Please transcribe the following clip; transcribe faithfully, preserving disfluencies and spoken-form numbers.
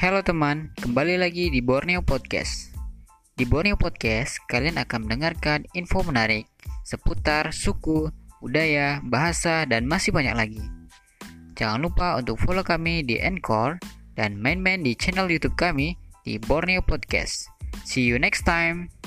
Halo teman, kembali lagi di Borneo Podcast. Di Borneo Podcast, kalian akan mendengarkan info menarik seputar suku, budaya, bahasa, dan masih banyak lagi. Jangan lupa untuk follow kami di Anchor dan main-main di channel YouTube kami di Borneo Podcast. See you next time.